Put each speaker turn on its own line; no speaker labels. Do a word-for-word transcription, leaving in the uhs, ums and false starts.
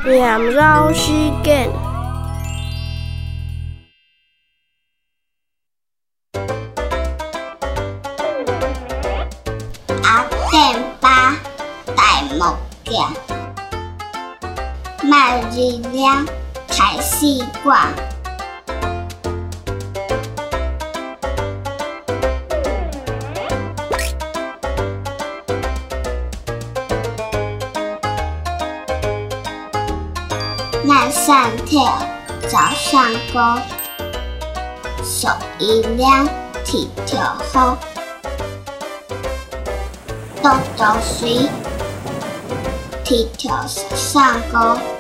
念绕时间。
阿电巴大木匠，卖日亮开始挂。晚上跳，早上歌，手一亮，天条好，多多水，天条上歌。